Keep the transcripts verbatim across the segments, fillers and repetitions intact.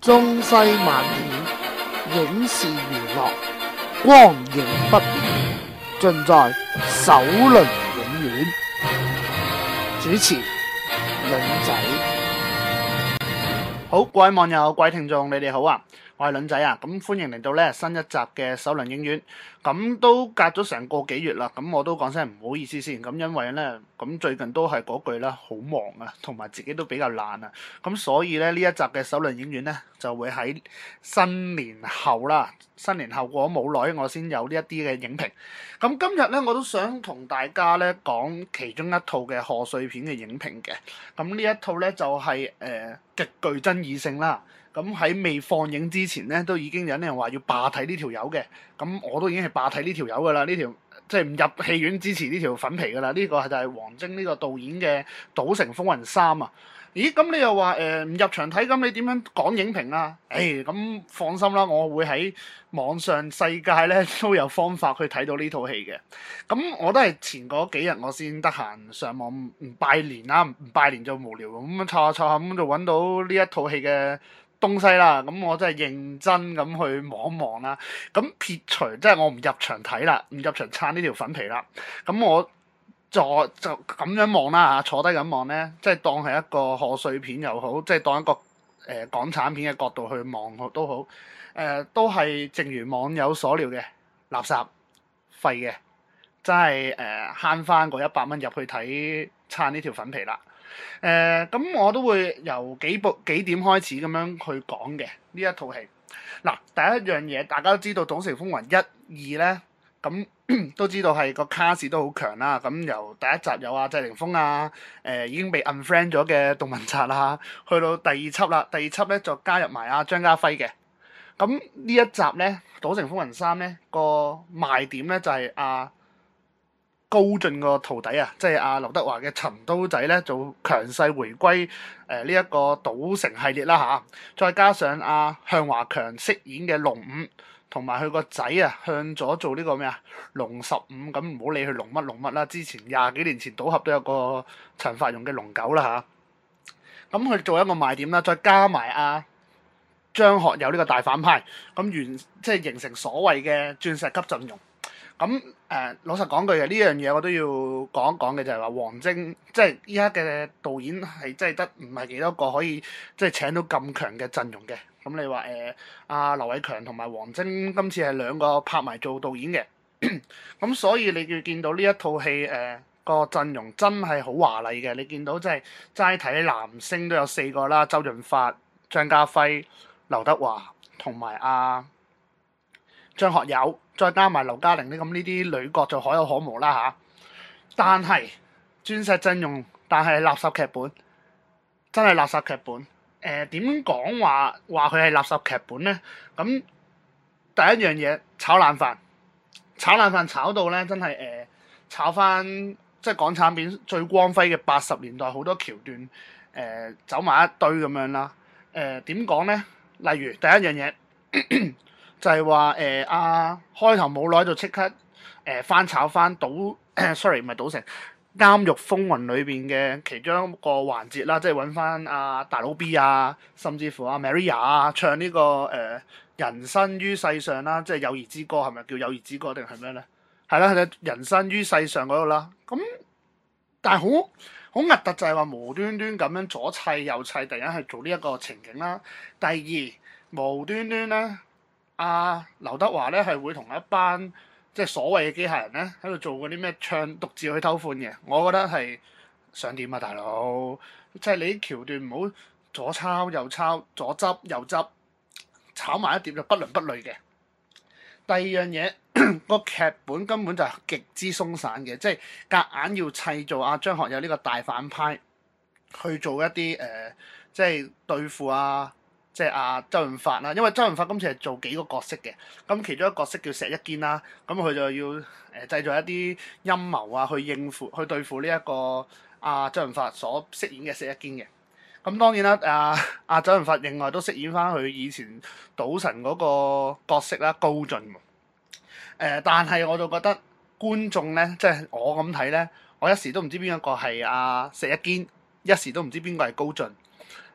中西漫片，影視娛樂，光影不變，盡在首倫映院。主持倫仔。 好，各位網友、各位聽眾，你哋好啊！我係倫仔啊，咁歡迎嚟到咧新一集嘅首倫映院。咁都隔咗成個幾月啦，咁我都講聲唔好意思先。咁因為咧，咁最近都係嗰句啦，好忙啊，同埋自己都比較懶啊。咁所以咧呢一集嘅首倫映院咧，就會喺新年後啦。新年後過咗冇耐，我先有呢一啲嘅影評。咁今日咧，我都想同大家咧講其中一套嘅賀歲片嘅影評嘅。咁呢一套咧就係、是、誒、呃、極具爭議性啦。咁喺未放映之前咧，都已經有人話要霸睇呢條友嘅。咁我都已經係霸睇呢條友噶啦，呢條即係唔入戲院支持呢條粉皮噶啦。呢、這個係就係王晶呢個導演嘅《賭城風雲三》啊。咦？咁你又話誒唔入場睇，咁你點樣講影評啊？誒、哎、咁放心啦，我會喺網上世界咧都有方法去睇到呢套戲嘅。咁我都係前嗰幾日我先得閒上網唔拜年啦，唔拜年就無聊咁樣湊下湊下咁就揾到呢一套戲嘅東西啦。咁我真係認真咁去望一望啦。咁撇除即係我唔入場睇啦，唔入場撐呢條粉皮啦。咁我就就咁樣望啦嚇，坐低咁望咧，即係當係一個賀歲片又好，即係當一個誒、呃、港產片嘅角度去望都好，誒、呃、都係正如網友所料嘅垃圾廢嘅，真係誒慳翻嗰一百蚊入去睇撐呢條粉皮啦。誒、呃、咁我都會由幾部幾點開始咁樣去講嘅呢一套戲。嗱，第一樣嘢大家都知道《賭城風雲》一、二咧。咁都知道係個卡士都好強啦。咁由第一集有阿謝霆鋒啊，誒、呃、已經被 unfriend 咗嘅杜汶澤啦，去到第二輯啦，第二輯咧就加入埋阿張家輝嘅。咁呢一集咧《賭城風雲三》咧個賣點咧就係、是、阿、啊、高進個徒弟啊，即係阿劉德華嘅陳刀仔咧做強勢回歸誒呢一個賭城系列啦嚇、啊，再加上阿、啊、向華強飾演嘅龍五。同埋佢個仔啊，向咗做呢個咩啊龍十五，咁唔好理佢龍乜龍乜啦。之前廿幾年前賭俠都有個陳法蓉嘅龍九啦嚇，咁、啊、佢做一個賣點啦，再加埋阿張學友呢個大反派，咁完即係形成所謂嘅鑽石級陣容。咁誒、呃、老實講句嘅呢樣嘢，我都要講一講嘅就係話王晶即係依家嘅導演係真係得唔係幾多個可以即係請到咁強嘅陣容嘅。咁你話誒阿劉偉強同埋王晶今次係兩個拍埋做導演嘅，咁所以你要見到呢一套戲誒個陣容真係好華麗嘅。你見到即係齋睇男星都有四個啦，周潤發、張家輝、劉德華同埋阿張學友，再加埋劉嘉玲呢，咁呢啲女角就可有可無啦嚇。但係鑽石陣容，但係垃圾劇本，真係垃圾劇本。誒點講話話佢係垃圾劇本咧？咁第一樣嘢炒冷飯，炒冷飯炒到咧真係誒、呃、炒翻即係港產片最光輝嘅八十年代好多橋段誒、呃、走埋一堆咁樣啦。誒點講咧？例如第一樣嘢就係話誒阿開頭冇耐就即刻誒、呃、翻炒翻賭，sorry 唔係賭城。監獄風雲裏邊嘅其中一個環節啦，即係揾翻阿大佬 B 啊，甚至乎阿、啊、Maria 啊，唱呢、這個誒、呃、人生於世上啦，即係友誼之歌，係咪叫友誼之歌定係咩咧？係啦，係人生於世上嗰度啦。咁但係好好核突就係話無端端咁樣左砌右砌，突然間去做呢一個情景啦。第二無端端咧，阿、啊、劉德華咧係會同一班即係所謂嘅機械人咧，喺度做嗰啲咩唱獨自去偷歡嘅，我覺得係想點啊，大佬！即係你啲橋段唔好左抄右抄，左執右執，炒埋一碟就不倫不類嘅。第二樣嘢，個劇本根本就係極之鬆散嘅，即係夾硬要砌做阿張學友呢個大反派去做一啲誒、呃，即係對付啊。即係阿周潤發啦，因為周潤發今次係做幾個角色嘅，咁其中一個角色叫石一堅啦，咁佢就要誒、呃、製造一啲陰謀啊，去應付去對付呢、這、一個阿、啊、周潤發所飾演嘅石一堅嘅。咁當然啦，阿、啊、阿、啊、周潤發另外都飾演翻佢以前賭神嗰個角色啦，高進。誒、呃，但係我就覺得觀眾咧，即係我咁睇咧，我一時都唔知邊一個係阿石一堅，一時都唔知邊個係高進。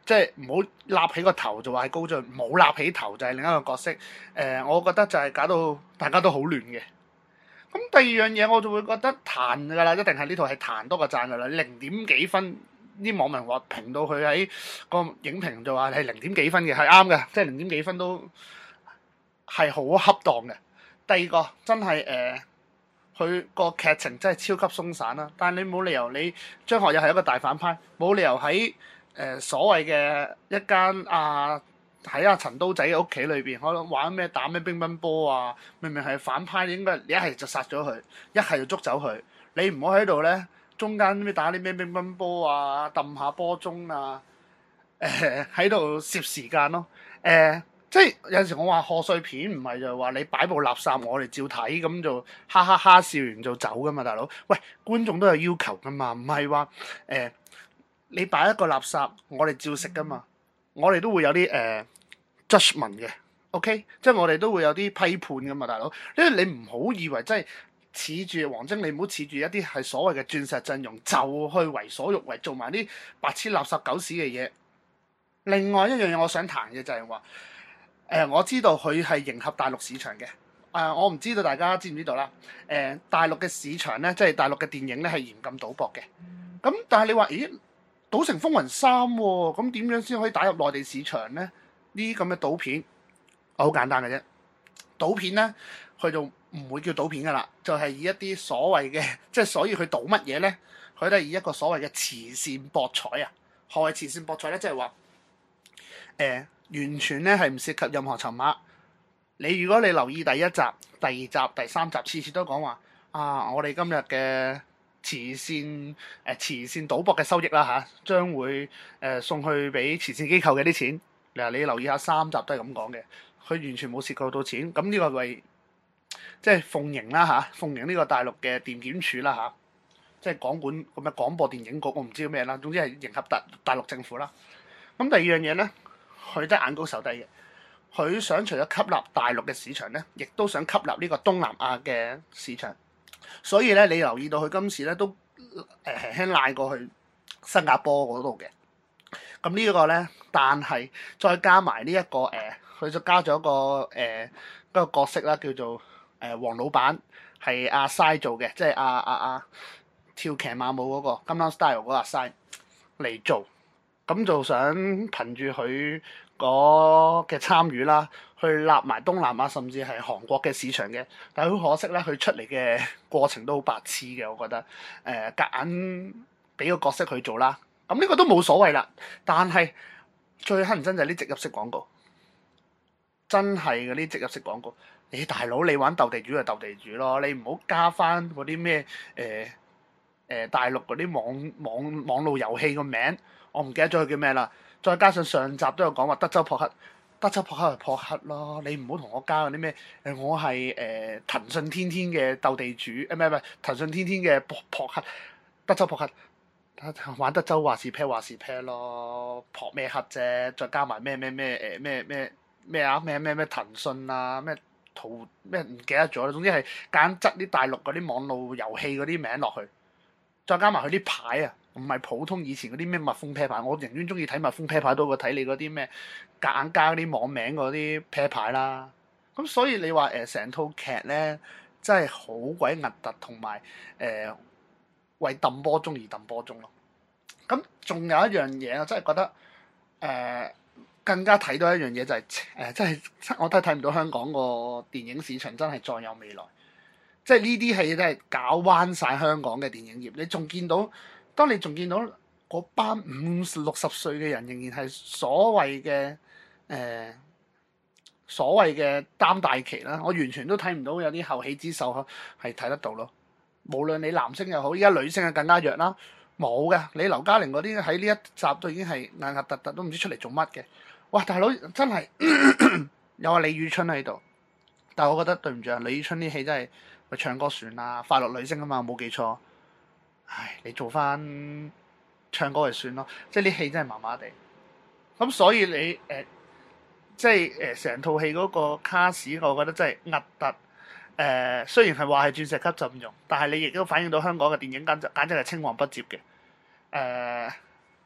即係唔好立起個頭就話係高進，冇立起頭就係另一個角色。誒、呃，我覺得就係搞到大家都好亂嘅。咁第二樣嘢我就會覺得彈㗎啦，一定係呢套係彈多過讚㗎啦。零點幾分，啲網民話評到佢喺個影評就話係零點幾分嘅，係啱嘅，即係零點幾分都係好恰當嘅。第二個真係誒，佢、呃、個劇情真係超級鬆散啦。但係你冇理由你張學友係一個大反派，冇理由喺誒、呃、所謂嘅一間啊喺阿陳刀仔嘅屋企裏邊，可能玩咩打咩乒乓波啊，明明係反派，應該一係就殺咗佢，一係就捉走佢。你唔好喺度咧，中間咩打啲咩乒乓波啊，揼下波鐘啊，誒喺度攝時間咯，誒、呃。即係有陣時我話賀歲片唔係就係話你擺部垃圾我哋照睇，咁就哈哈哈笑完就走噶嘛，大佬。喂，觀眾都有要求噶嘛，唔係話誒你擺一個垃圾我哋照食噶嘛，我哋都會有啲誒、呃、judgment 嘅 ，OK，即係我哋都會有啲批判噶嘛，大佬。因為你唔好以為真係恃住王晶，你唔好恃住一啲係所謂嘅鑽石陣容就去為所欲為，做埋啲白痴垃圾狗屎嘅嘢。另外一樣嘢我想談嘅就係話。誒、呃、我知道佢係迎合大陸市場嘅，誒、呃、我唔知道大家知唔知道啦。誒、呃、大陸嘅市場咧，即係大陸嘅電影咧係嚴禁賭博嘅。咁但係你話，咦，賭城風雲三喎、哦，咁點樣先可以打入內地市場咧？呢啲咁嘅賭片，好簡單嘅啫。賭片咧，佢就唔會叫賭片噶啦，就係、是、以一啲所謂嘅，即係所以佢賭乜嘢咧？佢都係以一個所謂嘅慈善博彩啊。何謂慈善博彩咧？即係話，誒、呃。完全咧係唔涉及任何籌碼。你如果你留意第一集、第二集、第三集，次次都講話啊，我哋今日嘅慈善誒、呃、慈善賭博嘅收益啦嚇，將會誒、呃、送去俾慈善機構嘅啲錢。嗱，你留意下三集都係咁講嘅，佢完全冇涉及到錢。咁呢個為即係奉迎啦嚇，奉迎呢個大陸嘅電檢署啦嚇，即係廣管咁嘅廣播電影局，我唔知叫咩啦，總之係迎合大大陸政府啦。咁第二樣嘢咧。佢都係眼高手低嘅，佢想除咗吸納大陸嘅市場咧，亦都想吸納呢個東南亞嘅市場。所以咧，你留意到佢今次咧都誒輕輕賴過去新加坡嗰度嘅。咁呢個咧，但係再加埋呢一個誒，佢、呃、就加咗一個誒、呃、一個角色啦，叫做誒黃、呃、老闆，係阿 Sai 做嘅，即係阿阿阿跳騎馬舞嗰、那個金剛 style 嗰個阿 Sai 嚟做。咁就想憑住佢嗰嘅參與啦，去立埋東南亞甚至係韓國嘅市場嘅。但係好可惜咧，佢出嚟嘅過程都好白痴嘅，我覺得。誒夾硬俾個角色佢做啦，咁呢個都冇所謂啦。但係最乞人憎就係啲植入式廣告，真係嗰啲植入式廣告。你、欸、大佬你玩鬥地主就鬥地主咯，你唔好加翻嗰啲咩誒誒大陸嗰啲網網網絡遊戲個名。我唔記得咗佢叫咩啦，再加上上集都有講話德州撲克，德州撲克係撲克咯，你唔好同我加嗰啲咩誒，我係誒、呃、騰訊天天嘅鬥地主，誒唔係唔係騰訊天天嘅撲撲克，德州撲克，玩德州話事啤話事啤咯，撲咩克啫，再加埋咩咩咩誒咩咩咩啊咩咩咩騰訊啊咩圖咩唔記得咗啦，總之係揀執啲大陸嗰啲網絡遊戲嗰啲名落去，再加埋佢啲牌啊！唔係普通以前嗰啲咩蜜蜂啤牌，我寧願中意睇蜜蜂啤牌多過睇你嗰啲咩夾硬加啲網名嗰啲啤牌啦。咁所以你話誒成套劇咧真係好鬼核突，同埋誒為揼波鐘而揼波鐘咯。咁仲有一樣嘢，我真係覺得誒、呃、更加睇到一樣嘢就係、是、誒、呃、真係我都睇唔到香港個電影市場真係再有未來。即係呢啲戲真係搞彎晒香港嘅電影業。你仲見到？當你仲見到嗰班五六十歲嘅人仍然係所謂嘅誒、呃、所謂嘅擔大旗啦，我完全都睇唔到有啲後起之秀係睇得到咯。無論你男星又好，依家女星係更加弱啦，冇嘅。你劉嘉玲嗰啲喺呢一集都已經係硬核突突，都唔知出嚟做乜嘅。哇！大佬真係有阿李宇春喺度，但係我覺得對唔住啊，李宇春啲戲真係咪唱歌算啦，快樂女聲啊嘛，冇記錯。唉，你做翻唱歌就算咯，即係啲戲真係麻麻地。咁所以你誒、呃，即係誒成套戲嗰個卡士，我覺得真係核突。誒、呃，雖然係話係鑽石級陣容，但係你亦都反映到香港嘅電影簡直簡直係青黃不接嘅。誒、呃，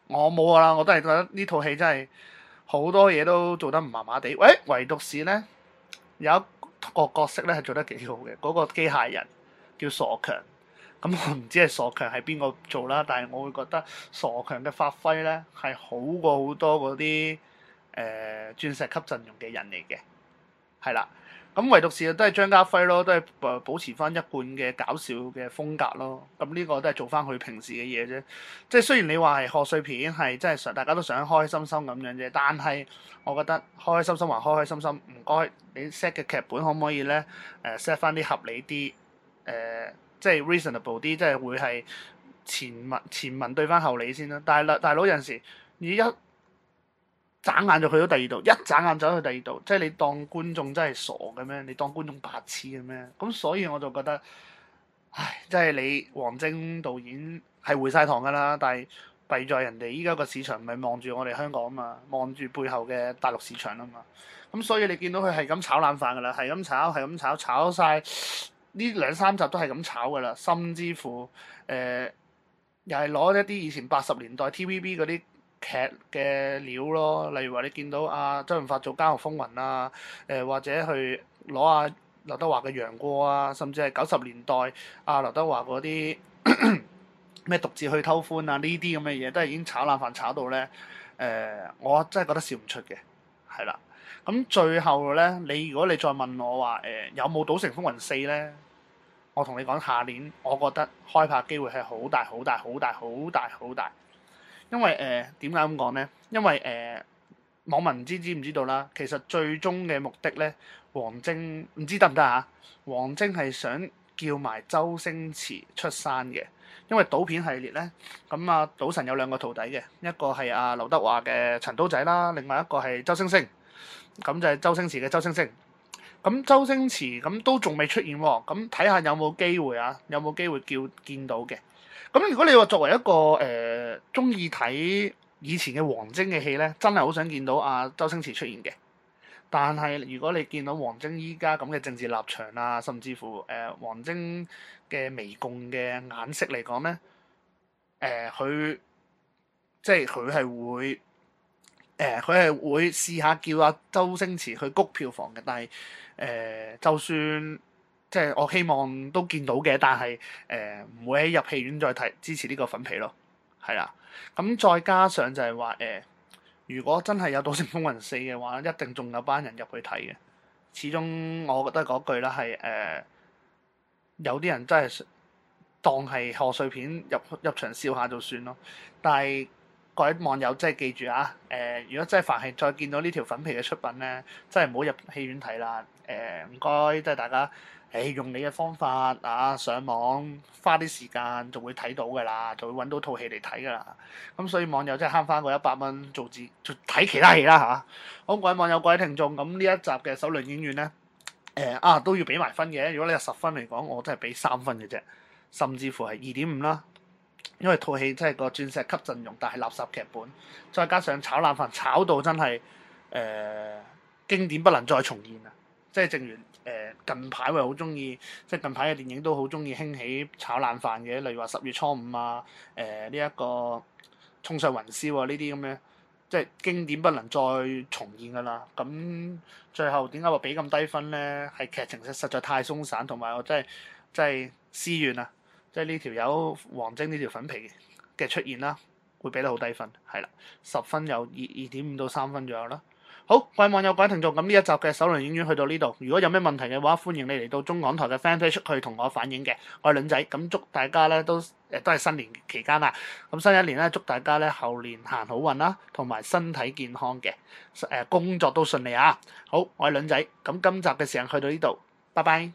我冇噶啦，我都係覺得呢套戲真係好多嘢都做得唔麻麻地。喂，唯獨是咧有一個角色咧係做得幾好嘅，嗰、那個機械人叫傻強。咁我唔知係傻強係邊個做啦，但係我會覺得傻強嘅發揮咧係好過好多嗰啲誒鑽石級陣容嘅人嚟嘅，係啦。咁唯獨是都係張家輝咯，都係誒保持翻一貫嘅搞笑嘅風格咯。咁呢個都係做翻佢平時嘅嘢啫。即係雖然你話係賀歲片，係真係想大家都想開開心心咁樣啫，但係我覺得開開心心還開開心心，唔該你 set 嘅劇本可唔可以咧誒 set 翻啲合理啲誒？呃即係 reasonable 啲，即係會係前文前文對翻後理先啦。但係啦，大佬有陣時你一眨眼就去到第二度，一眨眼走去第二度，即係你當觀眾真係傻嘅咩？你當觀眾白痴嘅咩？咁所以我就覺得，唉，即係你王晶導演係回晒堂㗎啦，但係弊在人哋依家個市場唔係望住我哋香港啊嘛，望住背後嘅大陸市場啊嘛。咁所以你見到佢係咁炒冷飯㗎啦，係咁炒，係咁炒，炒晒。呢兩三集都係咁炒㗎啦，甚至乎誒、呃、又係攞一啲以前八十年代 T V B 嗰啲劇嘅料咯，例如話你見到阿、啊、周潤發做《監獄風雲》啊，誒、呃、或者去攞阿劉德華嘅《楊過》啊，甚至係九十年代阿、啊、劉德華嗰啲咩獨自去偷歡啊，呢啲咁嘅嘢都係已經炒冷飯炒到咧誒、呃，我真係覺得笑唔出嘅，係啦。咁最後咧，你如果你再問我話誒、呃、有冇《賭城風雲四》咧，我同你講下年，我覺得開拍機會係好大好大好大好大好大，因為誒點解咁講咧？因為誒、呃、網民唔知知唔知道啦，其實最終嘅目的咧，王晶唔知得唔得啊？王晶係想叫埋周星馳出山嘅，因為賭片系列咧，咁啊賭神有兩個徒弟嘅，一個係阿劉德華嘅陳刀仔啦，另外一個係周星星。咁就係周星馳嘅周星星，咁周星馳咁都仲未出現喎，咁睇下有冇機會啊？有冇機會叫見到嘅？咁如果你話作為一個誒中意睇以前嘅王晶嘅戲咧，真係好想見到阿、啊、周星馳出現嘅。但係如果你見到王晶依家咁嘅政治立場啊，甚至乎誒、呃、王晶嘅媚共嘅眼色嚟講咧，誒、呃、佢即係佢係會。誒佢係會試下叫阿周星馳去谷票房嘅，但係誒、呃、就算即係我希望都見到嘅，但係誒唔會喺入戲院再睇支持呢個粉皮咯，係啦。咁再加上就係話誒，如果真係有《賭城風雲四》嘅話，一定仲有班人入去睇嘅。始終我覺得嗰句啦係誒，有啲人真係當係賀歲片入入場笑下就算咯，但係。各位網友真係記住啊！誒、呃，如果真係凡係再見到呢條粉皮嘅出品咧，真係唔好入戲院睇啦。誒、呃，唔該，即係大家誒、欸、用你嘅方法啊，上網花啲時間就會睇到㗎啦，就會揾到套戲嚟睇㗎啦。咁所以網友真係慳翻個一百蚊做自做睇其他戲啦嚇。好，各位網友、各位聽眾，咁呢一集嘅首倫映院咧，誒、呃、啊都要俾埋分嘅。如果你係十分嚟講，我真係俾三分嘅啫，甚至乎係二點五啦。因為套戲真係個鑽石級陣容，但係垃圾劇本，再加上炒冷飯炒到真係誒、呃、經典不能再重現啊！即係正如誒、呃、近排我好中意，即係近排嘅電影都好中意興起炒冷飯嘅，例如話十月初五啊，誒呢一個衝上雲霄啊呢啲咁嘅，即係經典不能再重現㗎啦。咁最後點解話俾咁低分咧？係劇情實實在太鬆散，同埋我真係真係思怨啊！即係呢條友王晶呢條粉皮嘅出現啦，會俾得好低分，係啦，十分有二二點五到三分左右啦。好，各位網友、各位聽眾，咁呢一集嘅首倫映院去到呢度。如果有咩問題嘅話，歡迎你嚟到中港台嘅 fan page 去同我反映嘅。我係倫仔，咁祝大家咧都誒都係新年期間啦。咁新一年咧，祝大家咧後年行好運啦，同埋身體健康嘅，誒工作都順利啊！好，我係倫仔，咁今集嘅時間去到呢度，拜拜。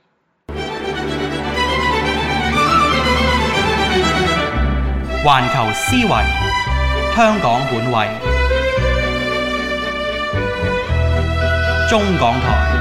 環球思維，香港本位，中港台。